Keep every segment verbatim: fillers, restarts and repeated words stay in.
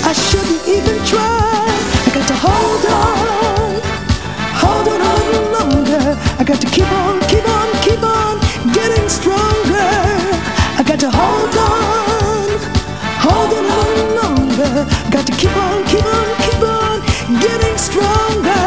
I shouldn't even try. I got to hold on, hold on a little longer. I got to keep on, keep on, keep on getting stronger. I got to hold on, hold on a little longer. Got to keep on, keep on, keep on getting stronger.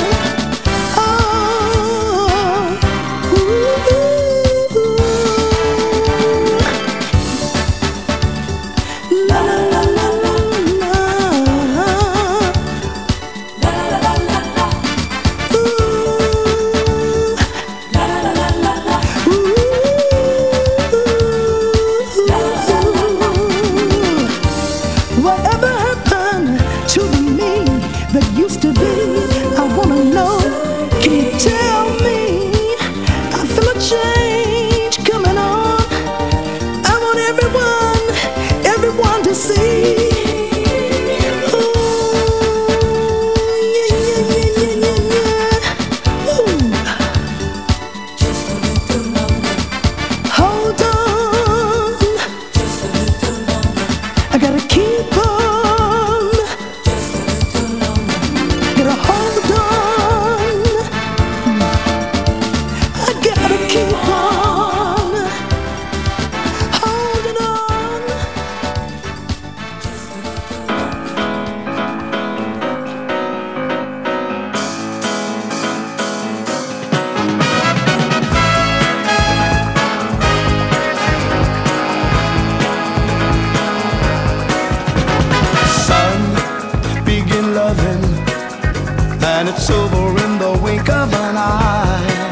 And it's over in the wink of an eye.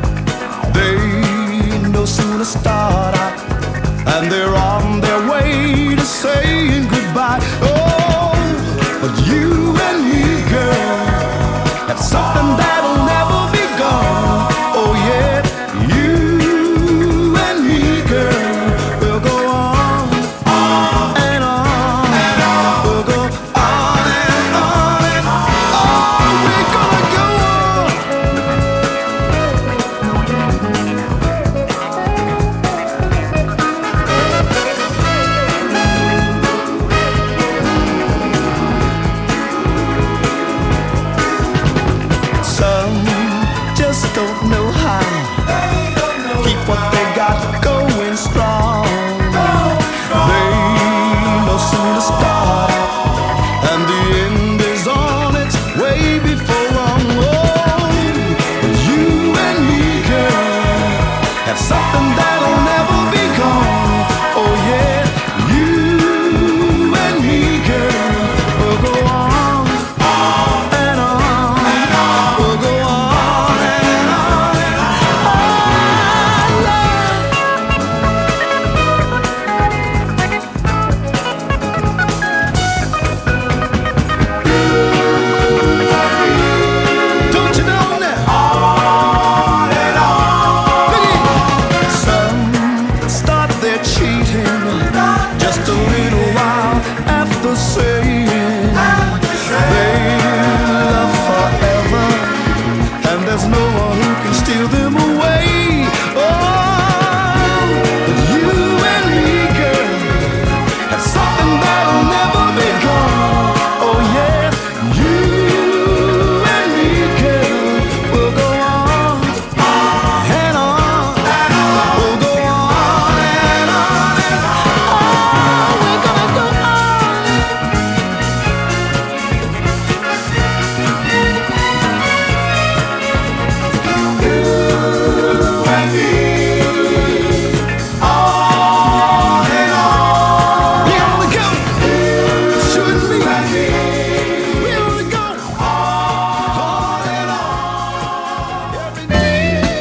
They no sooner start out, and they're on their way to saying goodbye. Oh, but you and me, girl, have something that'll never be gone. Oh yeah, you and me, girl, will go on, on and on, and on. We'll go on and on and on. We're gonna go on. Some just don't know how. Keep what they got going strong. They no sooner start out, and the end is on its way before long. Oh, but you and me, girl, have something that'll never be gone. Oh yeah, you and me, girl, will go on, on and on, and on. We'll go on and on and on. Don't you know now? On and on. Some start their cheating just a little while after saying they love forever, and there's no one who can steal them away. Oh, but you and me, girl, have something that'll never be gone. Oh yeah, you and me, girl, will go on, on and on, and on. We'll go on and on and on. We're gonna go on. You and me, on and on. We only go, you and me, we only go on and on every day.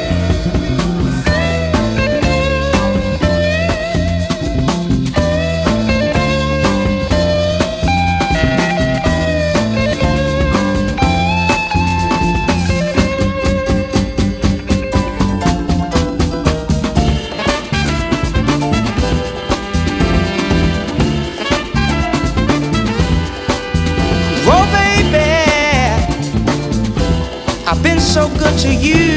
Oh baby, I've been so good to you.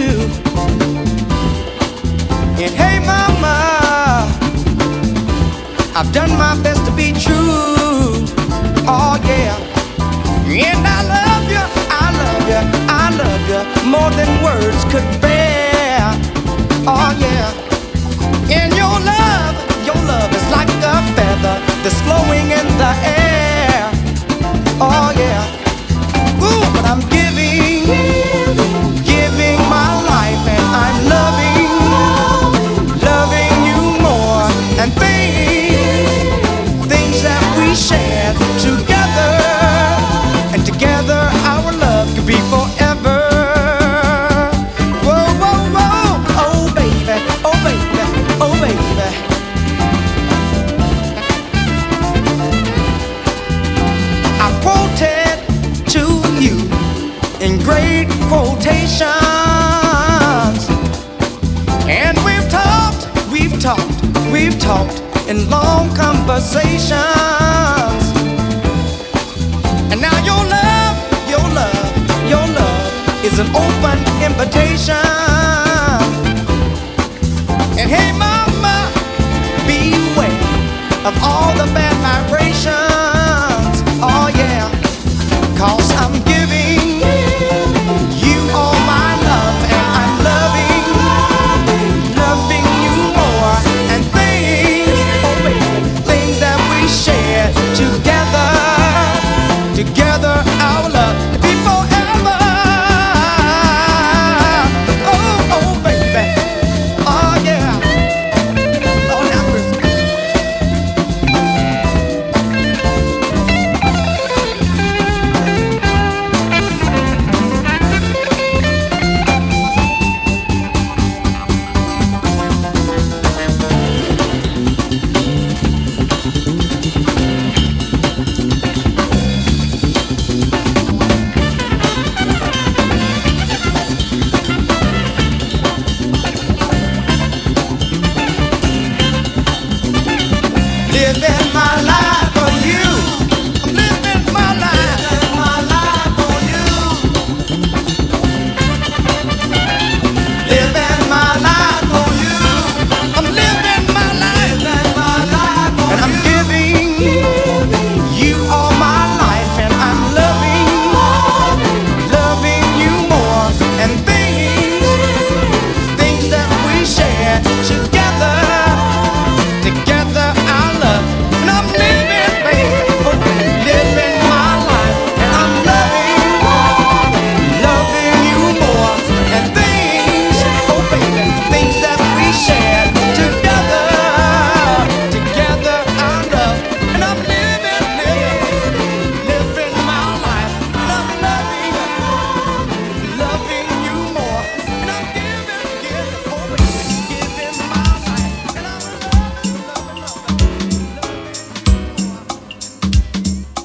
And hey mama, I've done my best to be true. conversations. And now your love, your love, your love is an open invitation. And hey mama, beware of all the bad vibrations. Oh yeah, 'cause I'm giving you all my love, and I'm loving, loving you more. And things, oh baby, things that we share together, together our love to be forever. Oh, oh baby, oh yeah, oh now living my life for you. I'm living my life, living my life for you. Living my life for you. I'm living my life, living my life for you. And I'm giving you all my life, and I'm loving, loving you more. And things, things that we share together, together our love. And I'm living, baby, oh, living my life. And I'm loving, loving you more. And things, oh baby, things that we share together, together our love. And I'm living, living, living my life. And I'm loving, loving you more. And I'm giving, giving, oh baby, giving my life. And I'm loving, loving, loving, loving.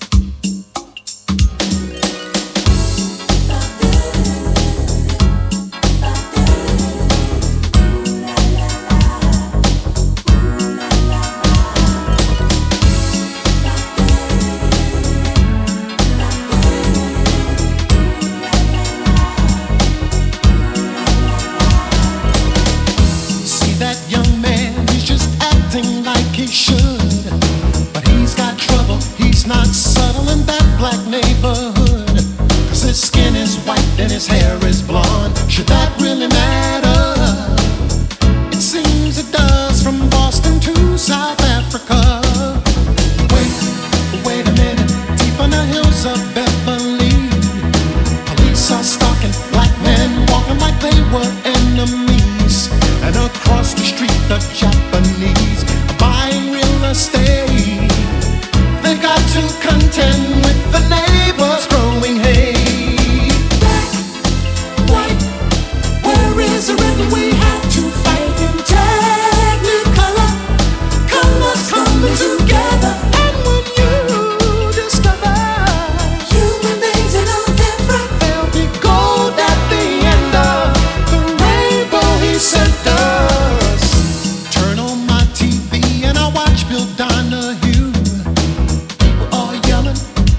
See that young man, he's just acting like he should. But he's got trouble, he's not subtle in that black neighborhood. 'Cause his skin is white and his hair is blonde. Should that really matter? It seems it does, from Boston to South Africa. Wait, wait a minute, deep on the hills of Beverly, police are stalking black men, walking like they were enemies. And across the street, the Japanese are buying real estate. They got to contend with the neighbors growing hate. Black, white, where is the rhythm? We have to fight in technicolor, colors coming together. And when you discover human beings are no different, there'll be gold at the end of the rainbow he sent us. Turn on my T V and I watch Bill Donahue. People are yelling,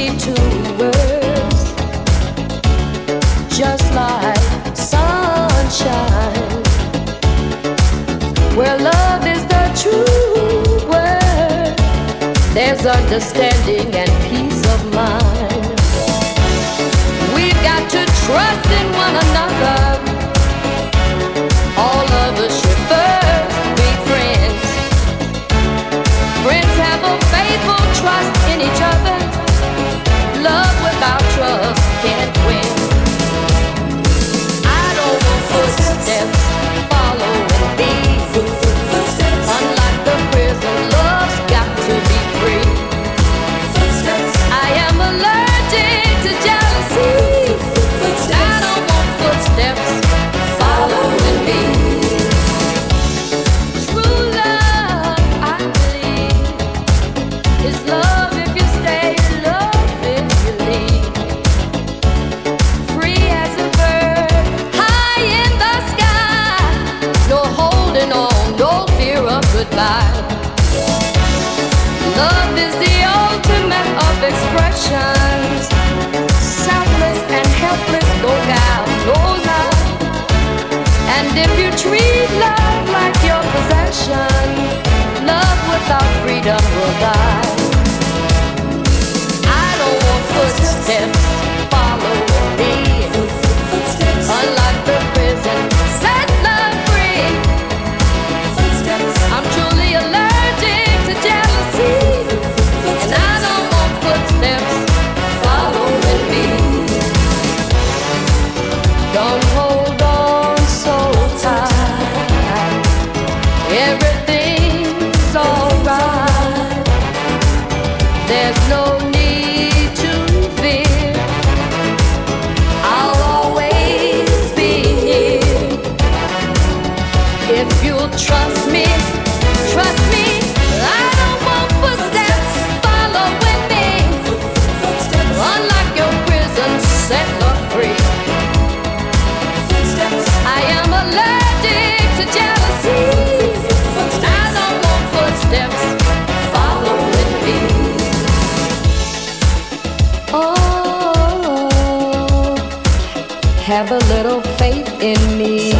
only two words, just like sunshine. Where love is the true word, there's understanding and peace of mind. We've got to trust in one another. All of us should first be friends. Friends have a faithful trust in each other. Love without trust can't win. I don't want footsteps following me. Unlike the prison, love's got to be free. I am allergic to jealousy. I don't want footsteps following me. True love, I believe, is love if you stay, love if you leave. Free as a bird, high in the sky. No holding on, no fear of goodbye. Love is the ultimate of expressions. Selfless and helpless, go down, no lie. And if you treat love like your possession, love without freedom will die. I don't want footsteps following me. Unlike the prison, set love free. I'm truly allergic to jealousy, and I don't want footsteps following me. Don't hold on so tight. Everything's alright. There's no need to fear. I'll always be here. If you'll trust me, trust me. I don't want footsteps following me. Unlike your prison, set love free. I am allergic to jealousy. I don't want footsteps following me. Oh, have a little faith in me.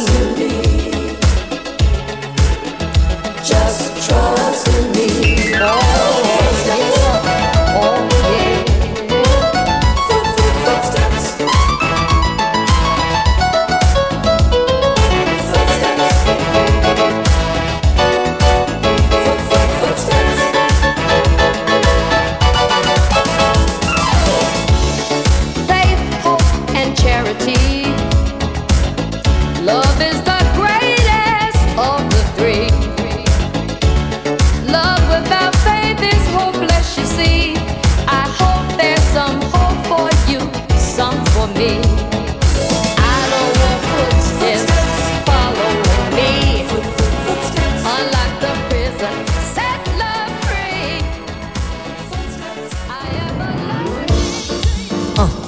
Just trust in me. Oh, yeah. Oh, yeah. Footsteps. Faith, hope, and charity. Love is the greatest of the three. Love without faith is hopeless, you see. I hope there's some hope for you, some for me. I don't want footsteps following me. Unlike the prison, set love free. I am alive. Uh.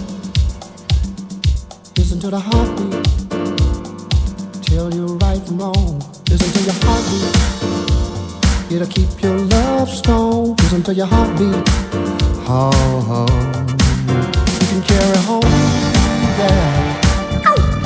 Listen to the heartbeat, tell you right from wrong. Listen to your heartbeat, it'll keep your love strong. Listen to your heartbeat, oh, oh. You can carry home, yeah.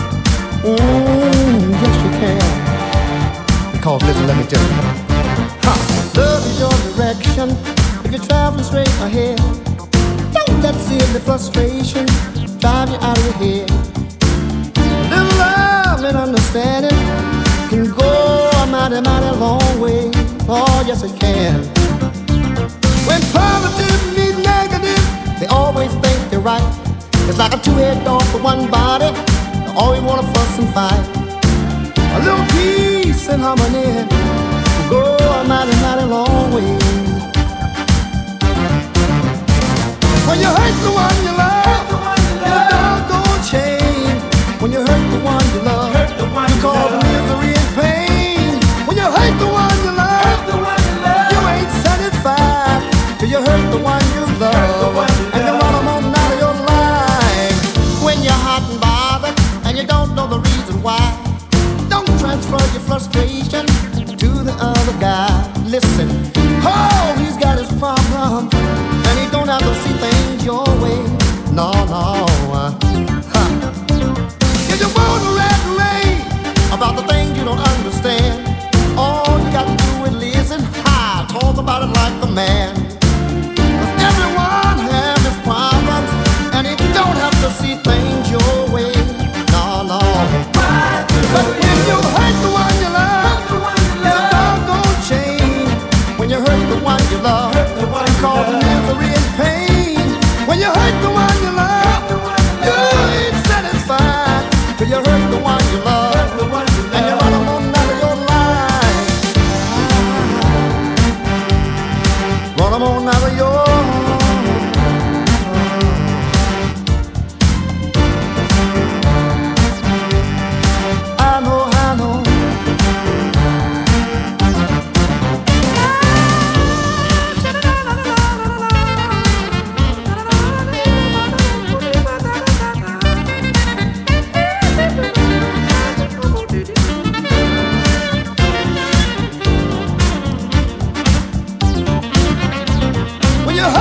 Mm, yes you can. Because listen, let me tell you, ha. Love is your direction. If you're traveling straight ahead, don't let silly frustration drive you out of your head. Little love and understanding can go a mighty, mighty long way. Oh, yes it can. When positive meets negative, they always think they're right. It's like a two-head dog for one body. They always wanna fuss and fight. A little peace and harmony can go a mighty, mighty long way. When you hurt the one you love, the doggone chain. When you hurt the one you love, you cause misery and pain. When you hurt the one you love, you ain't satisfied till you hurt the one you love, and you run them on out of your life. When you're hot and bothered and you don't know the reason why, don't transfer your frustration to the other guy. Listen, oh, he's got his problem, and he don't have to see things man. 'Cause everyone has his problems, and he don't have to see things your way. No, no. But when you hurt the one you love, it's a doggone shame. When you hurt the one you love, cause misery and pain. When you hurt the one you love, you ain't satisfied. Till you hurt the one you love, and you run them on out of your life. Run them on out of your I know, I know. When you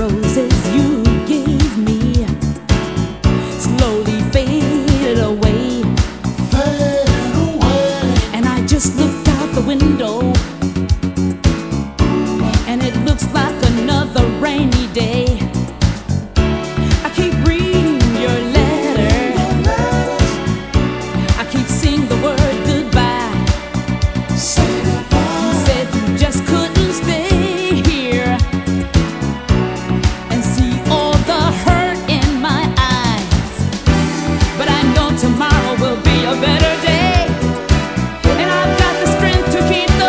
roses you gave me slowly faded away. Faded away. And I just looked out the window, and it looks like another rainy day. I keep reading your letter, I keep seeing the word goodbye. Say goodbye. You said you just couldn't stay here and see all the hurt in my eyes. But I know tomorrow will be a better day, and I've got the strength to keep the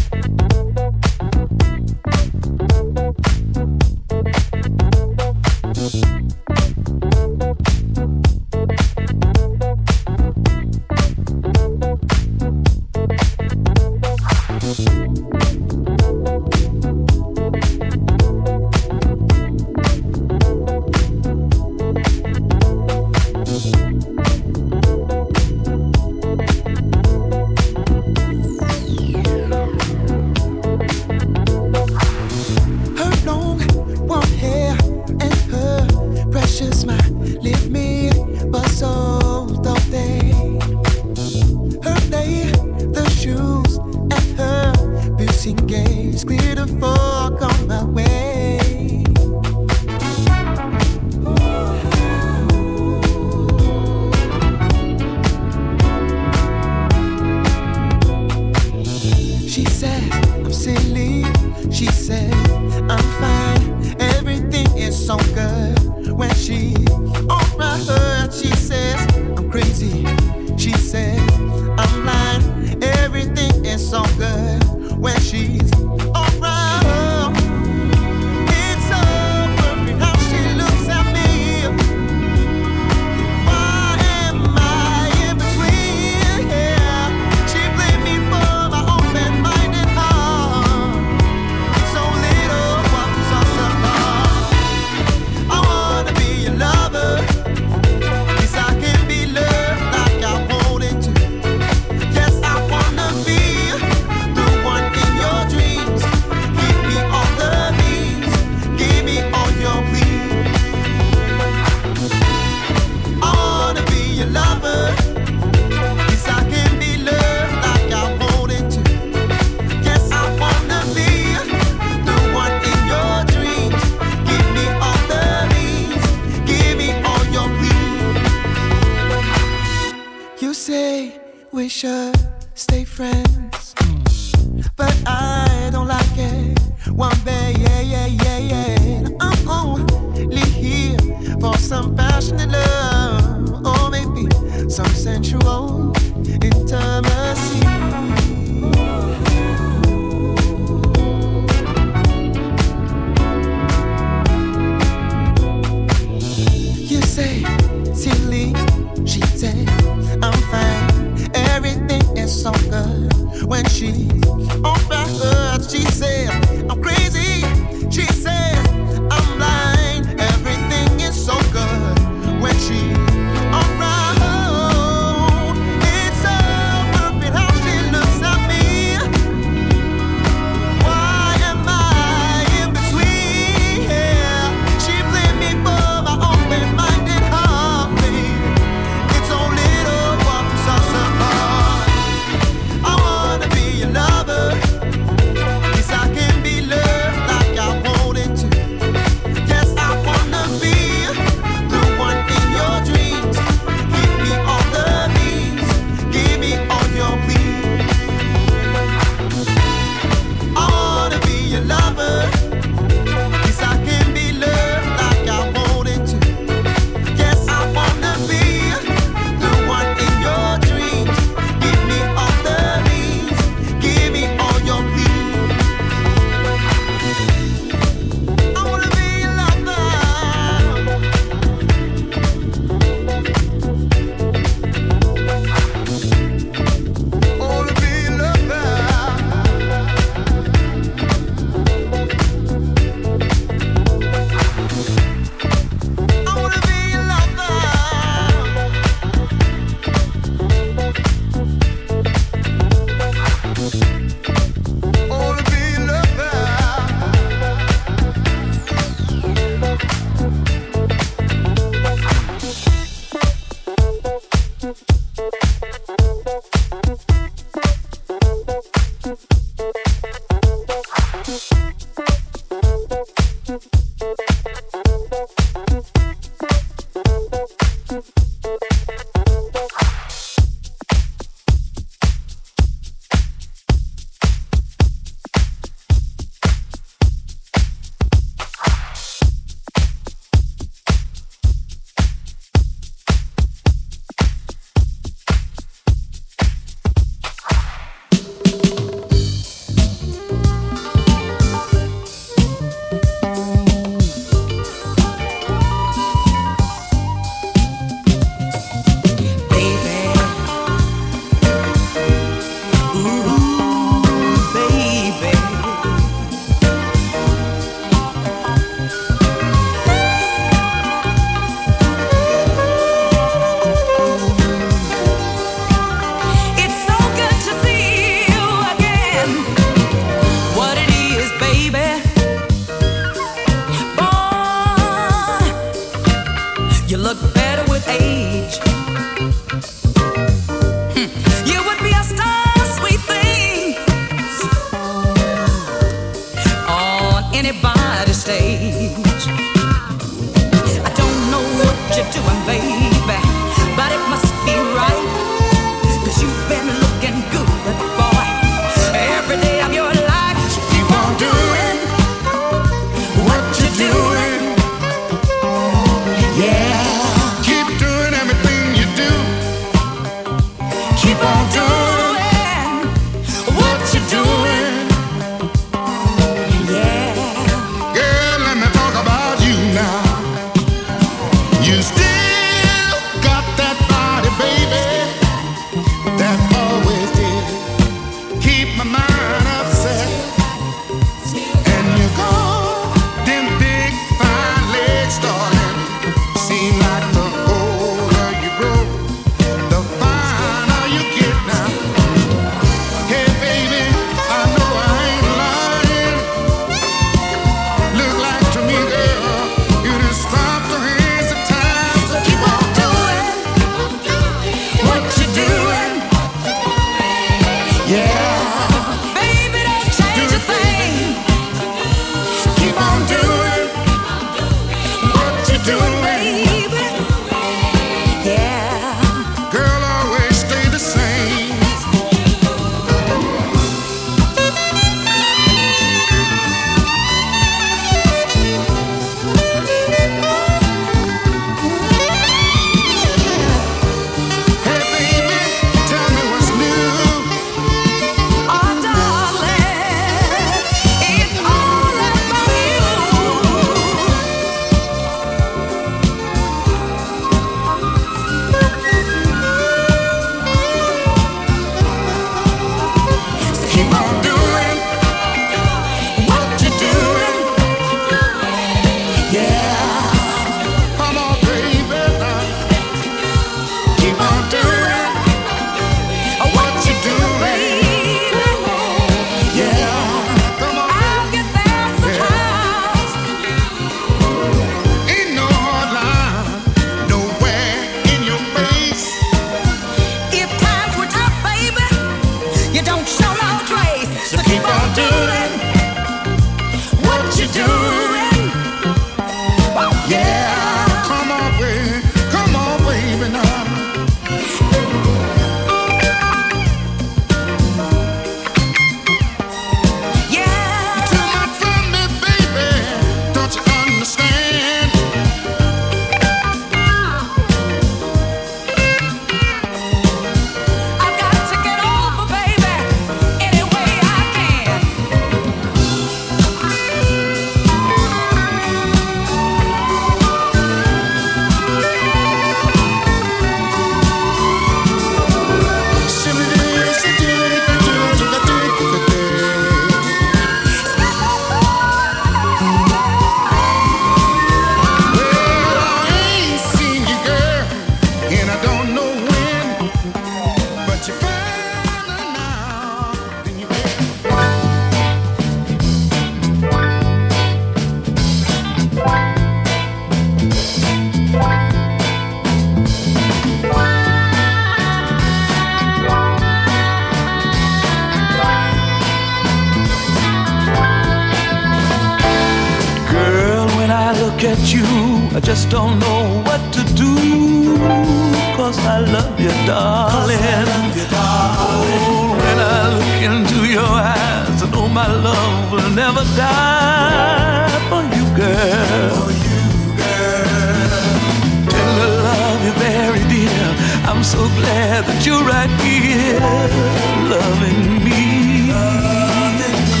look at you, I just don't know what to do. Cause I love you, darling. I love you, darling. Oh, when I look into your eyes, I know my love will never die for you, girl. For you, girl. Tender love you very dear. I'm so glad that you're right here, loving me. Loving me.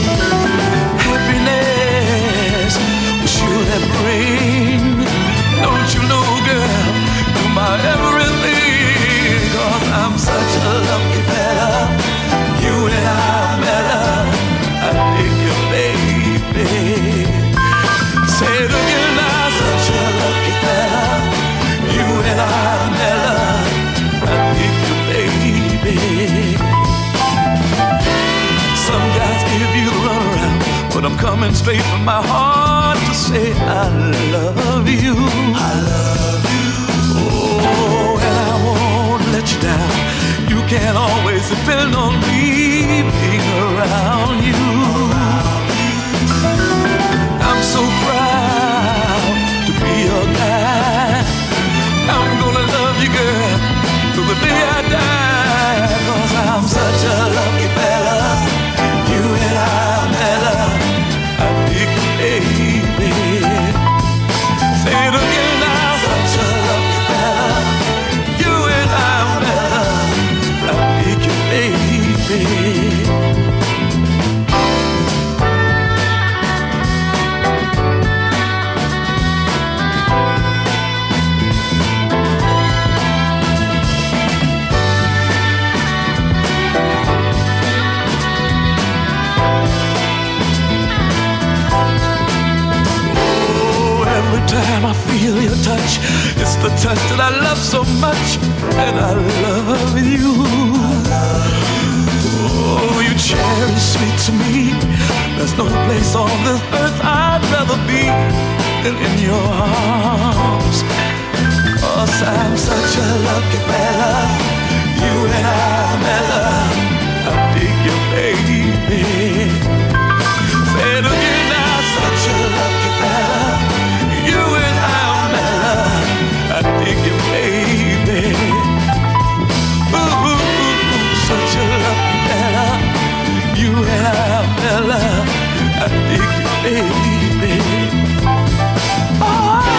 Happiness will surely bring. Don't you know, girl, you're my everything. Cause I'm such a lucky fella. You and I met love. I dig you, baby. Say it again now. Such a lucky fella. You and I met love. I dig you, baby. Some guys give you the runaround, but I'm coming straight from my heart to say I love you. I love you. Oh, and I won't let you down. You can always depend on me being around you. I'm so proud to be your guy. I'm gonna love you, girl, till the day I die. Cause I'm such a lucky fella. You and I met love. I dig you, baby. Say it again now. Such a lucky fella. You and I met love. I dig you, baby. Every time I feel your touch, it's the touch that I love so much, and I love you. Oh, you cherish sweet to me. There's no place on this earth I'd rather be than in your arms. Cause I'm such a lucky fella. You and I met love. I dig you, baby. Say it again now. Such a lucky fella. You and I met love. I dig you, baby. Ooh, such a lucky fella. You and I met love. I dig you, baby. Oh,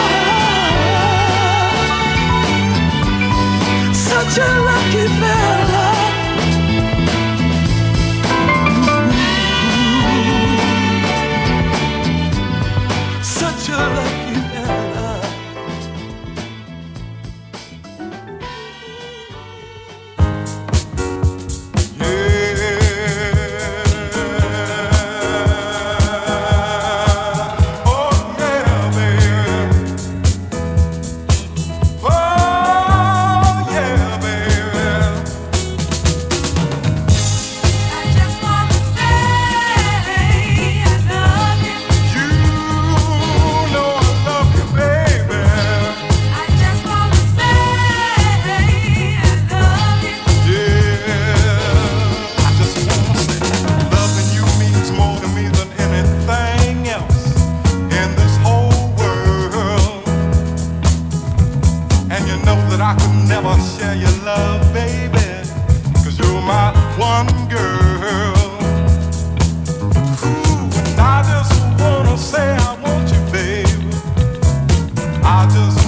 such a lucky fella. Ooh, such a lucky. I could never share your love, baby, 'cause you're my one girl. Ooh, and I just wanna say I want you, baby. I just